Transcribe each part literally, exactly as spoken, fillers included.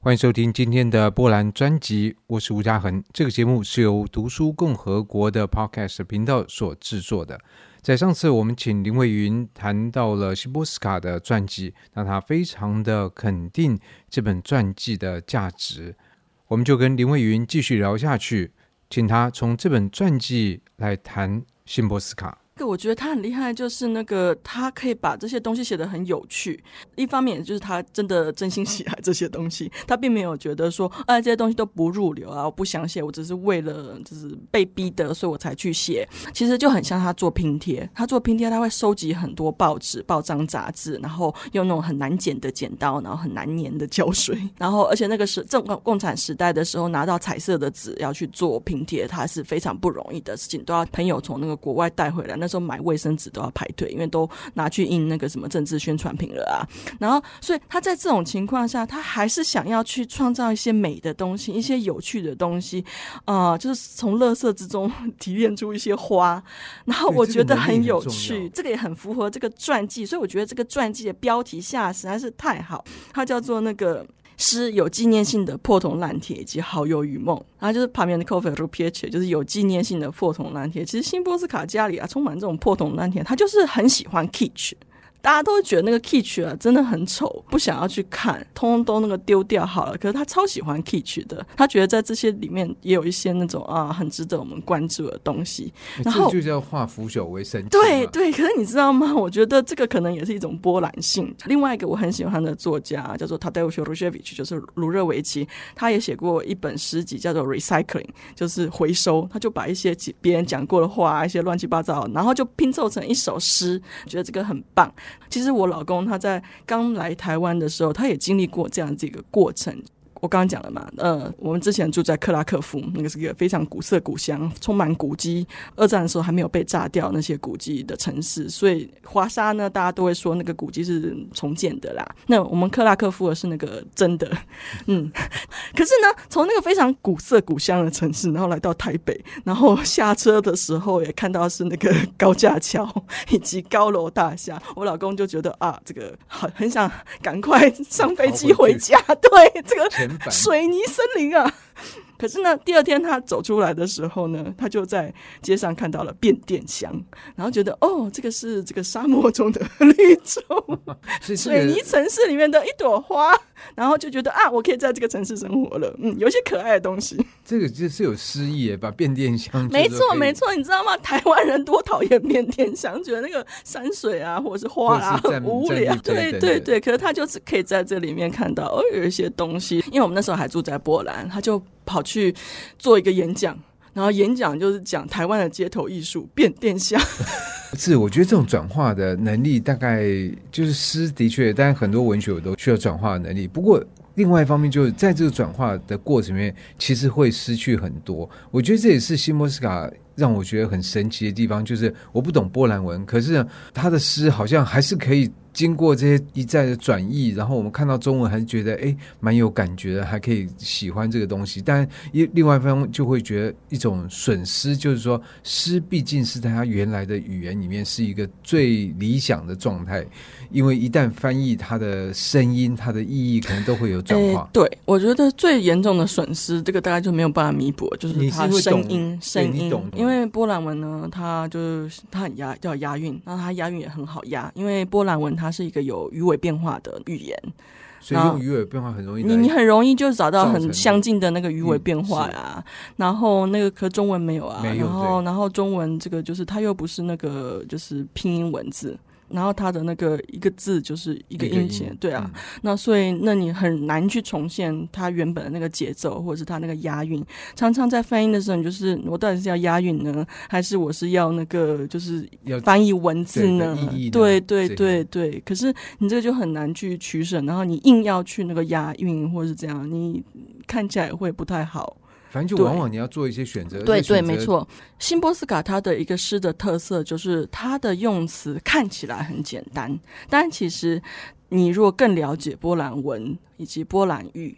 歡迎收聽今天的波蘭專輯，我是吳嘉恆。這個節目是由讀書共和國的 Podcast 頻道所製作的。在上次我們請林蔚雲談到了辛波絲卡的傳記，那他非常的肯定這本傳記的價值，我們就跟林蔚雲繼續聊下去，請他從這本傳記來談辛波絲卡。 我覺得他很厲害，就是那個他可以把這些東西寫得很有趣。一方面就是他真的真心喜愛這些東西，他並沒有覺得說，哎，這些東西都不入流啊，我不想寫，我只是為了就是被逼的，所以我才去寫。其實就很像他做拼貼，他做拼貼，他會收集很多報紙、報章、雜誌，然後用那種很難剪的剪刀，然後很難粘的膠水，然後而且那個是正共產時代的時候，拿到彩色的紙要去做拼貼，它是非常不容易的事情，都要朋友從那個國外帶回來。那時候買衛生紙都要排隊，因為都拿去印那個什麼政治宣傳品了啊。然後，所以他在這種情況下，他還是想要去創造一些美的東西，一些有趣的東西，啊、呃，就是從垃圾之中提煉出一些花。然後我覺得很有趣，這個也很符合這個傳記，所以我覺得這個傳記的標題下實在是太好，它叫做那個。詩有紀念性的破銅爛鐵以及好友與夢，然後就是旁邊的 cover picture 就是有紀念性的破銅爛鐵。其實辛波絲卡家裡啊充滿這種破銅爛鐵，他就是很喜歡 kitsch。大家都會覺得那個 kitsch 啊真的很醜，不想要去看，通通都那個丟掉好了。可是他超喜歡 kitsch 的，他覺得在這些裡面也有一些那種啊很值得我們關注的東西。然後這就叫化腐朽為神奇。 對對，可是你知道嗎？我覺得這個可能也是一種波蘭性。另外一個我很喜歡的作家叫做 Tadeusz Różewicz， 就是盧熱維奇，他也寫過一本詩集叫做 Recycling， 就是回收。他就把一些別人講過的話，一些亂七八糟，然後就拼湊成一首詩，覺得這個很棒。其實我老公他在剛來台灣的時候，他也經歷過這樣這個過程。我剛剛講了嘛，呃，我們之前住在克拉克夫，那個是一個非常古色古香、充滿古蹟。二戰的時候還沒有被炸掉那些古蹟的城市，所以華沙呢，大家都會說那個古蹟是重建的啦。那我們克拉克夫的是那個真的，嗯。可是呢，從那個非常古色古香的城市，然後來到台北，然後下車的時候也看到是那個高架橋以及高樓大廈，我老公就覺得啊，這個很很想趕快上飛機回家。對，這個。水泥森林啊！可是呢，第二天他走出來的時候呢，他就在街上看到了變電箱，然後覺得哦，這個是這個沙漠中的綠洲，水泥城市裡面的一朵花，然後就覺得啊，我可以在這個城市生活了。嗯，有一些可愛的東西。這個就是有詩意耶，把變電箱。沒錯沒錯，你知道嗎？台灣人多討厭變電箱，覺得那個山水啊或者是花啊很無聊。對對對，可是他就是可以在這裡面看到哦，有一些東西。因為我們那時候還住在波蘭，他就跑去做一個演講，然後演講就是講台灣的街頭藝術變電箱。是，我覺得這種轉化的能力，大概就是詩的確，但很多文學我都需要轉化的能力。不過另外一方面，就是在這個轉化的過程裡面，其實會失去很多。我覺得這也是辛波絲卡讓我覺得很神奇的地方，就是我不懂波蘭文，可是呢，他的詩好像還是可以經過這些一再的轉譯，然後我們看到中文還是覺得哎蠻有感覺的，還可以喜歡這個東西。但另外一方面就會覺得一種損失，就是說詩畢竟是在他原來的語言裡面是一個最理想的狀態，因為一旦翻譯，它的聲音、它的意義可能都會有轉化。對，我覺得最嚴重的損失，這個大概就沒有辦法彌補，就是它聲音，聲音。因為波蘭文呢，它就是它很押，要押韻，然後它押韻也很好押，因為波蘭文它是一個有語尾變化的語言，所以用語尾變化很容易，你你很容易就找到很相近的那個語尾變化呀、啊嗯。然後那個可中文沒有啊，沒有，然後然後中文這個就是它又不是那個就是拼音文字。然後它的那個一個字就是一個音節，對啊、嗯，那所以那你很難去重現它原本的那個節奏，或者是它那個押韻。常常在翻譯的時候，你就是我到底是要押韻呢，還是我是要那個就是翻譯文字呢？對對對對。可是你這個就很難去取捨，然後你硬要去那個押韻或者是這樣，你看起來會不太好。反正就往往你要做一些選擇。對對，沒錯。辛波絲卡他的一個詩的特色就是他的用詞看起來很簡單，但其實你如果更了解波蘭文以及波蘭語，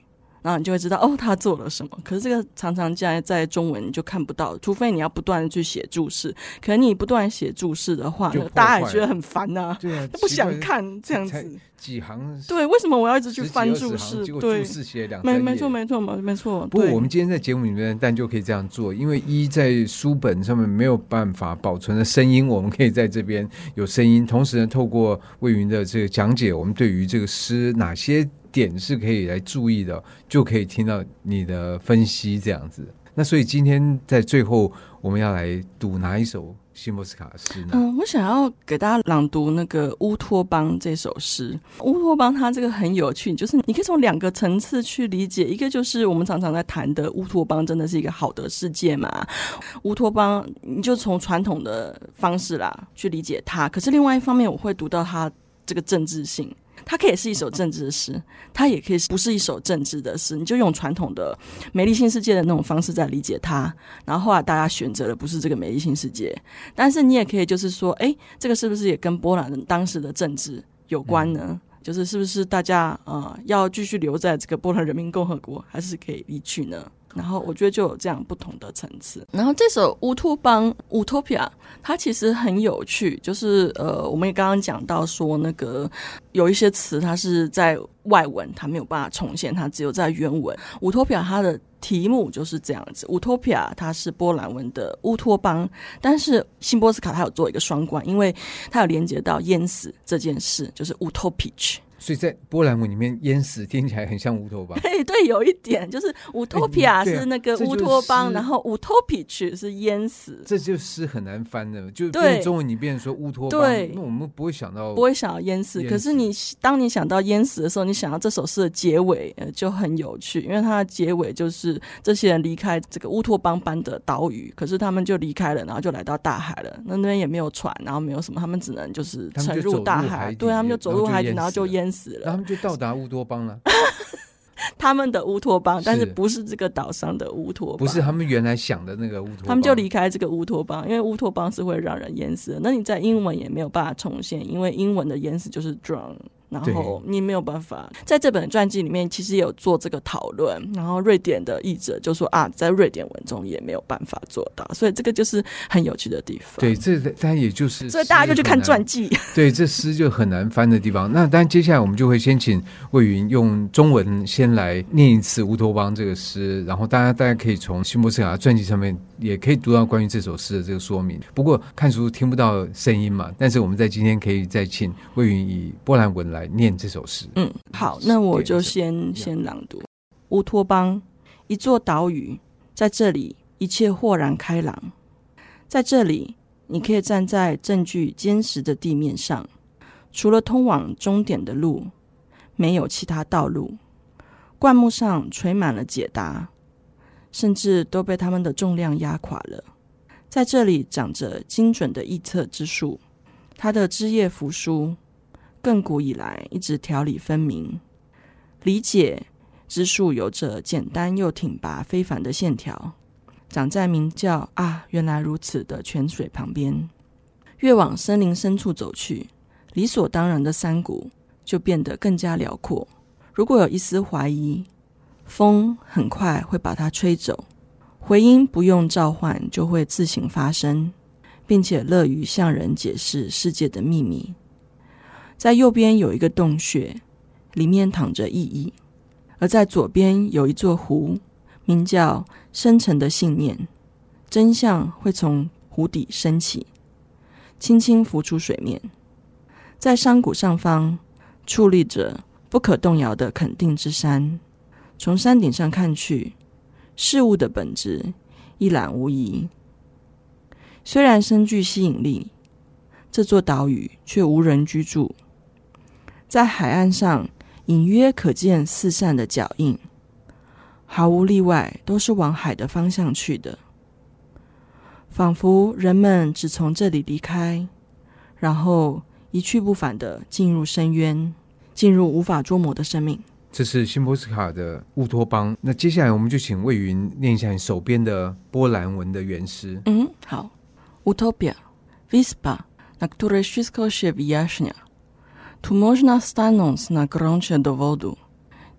然後你就會知道哦，他做了什麼。可是這個常常在在中文你就看不到，除非你要不斷的去寫注釋。可能你不斷寫注釋的話呢，大家也覺得很煩吶、啊， 對啊， 不想看這樣子。 幾行？對， 為什麼我要一直去翻注釋？對， 注釋寫兩沒沒錯沒錯沒錯。 不過我們今天在節目裡面，但就可以這樣做，因為一在書本上面沒有辦法保存的聲音，我們可以在這邊有聲音，同時呢，透過魏云的這個講解，我們對於這個詩哪些點是可以來注意的，就可以聽到你的分析這樣子。那所以今天在最後我們要來讀哪一首辛波絲卡的詩呢？ 嗯，我想要給大家朗讀那個烏托邦這首詩。烏托邦它這個很有趣，就是你可以從兩個層次去理解，一個就是我們常常在談的烏托邦真的是一個好的世界嘛？烏托邦你就從傳統的方式啦去理解它，可是另外一方面我會讀到它這個政治性。它可以是一首政治的詩，它也可以不是一首政治的詩。你就用傳統的美麗新世界的那種方式在理解它，然後後來大家選擇的不是這個美麗新世界，但是你也可以就是說，哎，這個是不是也跟波蘭人當時的政治有關呢？嗯、就是是不是大家呃要繼續留在這個波蘭人民共和國，還是可以離去呢？然後我覺得就有這樣不同的層次。然後這首烏托邦 Utopia 它其實很有趣，就是呃，我們也剛剛講到說那個有一些詞它是在外文它沒有辦法重現，它只有在原文。Utopia 它的題目就是這樣子， Utopia 它是波蘭文的烏托邦，但是辛波絲卡它有做一個雙關，因為它有連接到淹死這件事，就是 Utopic。 所以在波蘭文裡面，淹死聽起來很像烏托邦。 對對，有一點就是 Utopia 是那個烏托邦，然後 Utopic 是淹死。 這就詩很難翻的，就變中文你變成說烏托邦，對，那我們不會想到不會想到淹死。可是你當你想到淹死的時候，你想到這首詩的結尾、呃、就很有趣，因為它的結尾就是這些人離開這個烏托邦般的島嶼，可是他們就離開了，然後就來到大海了。那那邊也沒有船，然後沒有什麼，他們只能就是沉入大海。對，他們就走入海底，然後就淹死了。 然後他們就到達烏托邦了。 他們的烏托邦，但是不是這個島上的烏托邦，不是他們原來想的那個烏托邦。 他們就離開這個烏托邦，因為烏托邦是會讓人淹死的。那你在英文也沒有辦法重現，因為英文的淹死就是 drown。然後你沒有辦法在這本傳記裡面其實也有做這個討論，然後瑞典的譯者就說啊，在瑞典文中也沒有辦法做到，所以這個就是很有趣的地方。 對，這當然也就是所以大家就去看傳記。 對，這詩就很難翻的地方。那當然接下來我們就會先請魏云用中文先來念一次烏托邦這個詩，然後大家大家可以從辛波絲卡傳記上面也可以讀到關於這首詩的這個說明。不過看書聽不到聲音嘛，但是我們在今天可以再請魏云以波蘭文來念這首詩。 嗯，好，那我就先先朗讀。烏托邦，一座島嶼，在這裡一切豁然開朗。在這裡，你可以站在證據堅實的地面上，除了通往終點的路，沒有其他道路。灌木上垂滿了解答，甚至都被它們的重量壓垮了。在這裡長着精準的臆測之樹，它的枝葉扶疏，亘古以來一直條理分明。理解之樹有着簡單又挺拔非凡的線條，長在名叫啊原來如此的泉水旁邊。越往森林深處走去，理所當然的山谷就變得更加遼闊。如果有一絲懷疑，風很快會把它吹走，回音不用召喚就會自行發生，並且樂於向人解釋世界的秘密。在右邊有一個洞穴，裡面躺着意義；而在左邊有一座湖，名叫深沉的信念。真相會從湖底升起，輕輕浮出水面。在山谷上方矗立着不可動搖的肯定之山，從山頂上看去，事物的本質一覽無遺。雖然深具吸引力，這座島嶼卻無人居住。在海岸上隱約可見四散的腳印，毫無例外都是往海的方向去的，仿佛人們只從這裡離開，然後一去不返地進入深淵，進入無法捉摸的生命。 這是辛波絲卡的烏托邦。那接下來我們就請魏云念一下你手邊的波蘭文的原詩。 嗯，好。Utopia, wyspa, na której wszystko się wyjaśnia. Tu można stanąć na gruncie dowodu.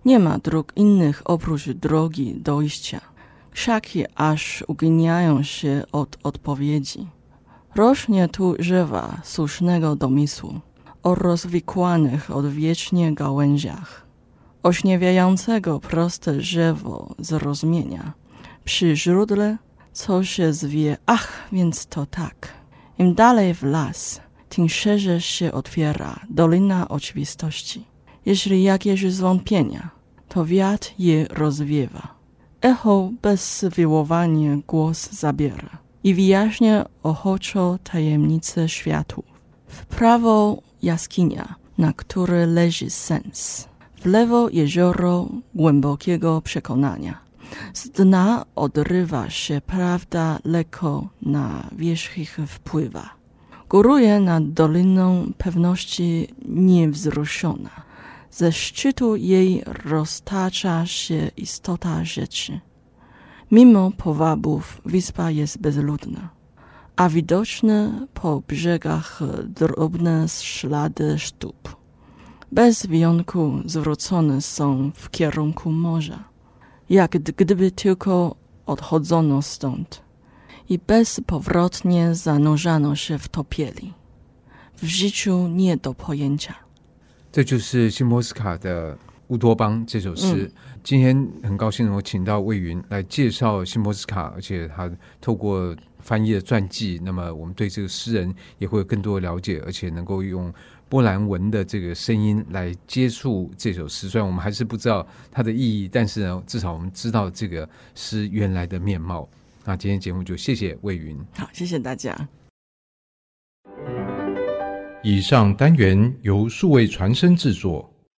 Nie ma dróg innych oprócz drogi dojścia. Krzaki aż uginają się od odpowiedzi. Rośnie tu drzewa słusznego domysłu o rozwikłanych odwiecznie gałęziach, ośniewiającego proste drzewo zrozumienia. Przy źródle, co się zwie, ach, więc to tak. Im dalej w las, tym szerzej się otwiera dolina oczywistości. Jeśli jakieś zwątpienia, to wiatr je rozwiewa. Echo bez wywołania głos zabiera i wyjaśnia ochoczo tajemnice światów. W prawo jaskinia, na której leży sens. W lewo jezioro głębokiego przekonania. Z dna odrywa się prawda, lekko na wierzch wpływa. Góruje nad doliną pewności niewzruszona. Ze szczytu jej roztacza się istota rzeczy. Mimo powabów wyspa jest bezludna, a widoczne po brzegach drobne ślady stóp. Bez wyjątku zwrócone są w kierunku morza, jak gdyby tylko odchodzono stąd i bezpowrotnie zanurzano się w topieli. W życiu nie do pojęcia。 这就是辛波絲卡的烏托邦這首詩、嗯、今天很高興能夠請到魏云來介紹辛波絲卡，而且他透過翻譯的傳記，那麼我們對這個詩人也會有更多的了解，而且能夠用波蘭文的這個聲音來接觸這首詩。雖然我們還是不知道它的意義，但是呢，至少我們知道這個詩原來的面貌。那今天節目就謝謝魏云。 好，謝謝大家。 以上單元由數位傳聲製作。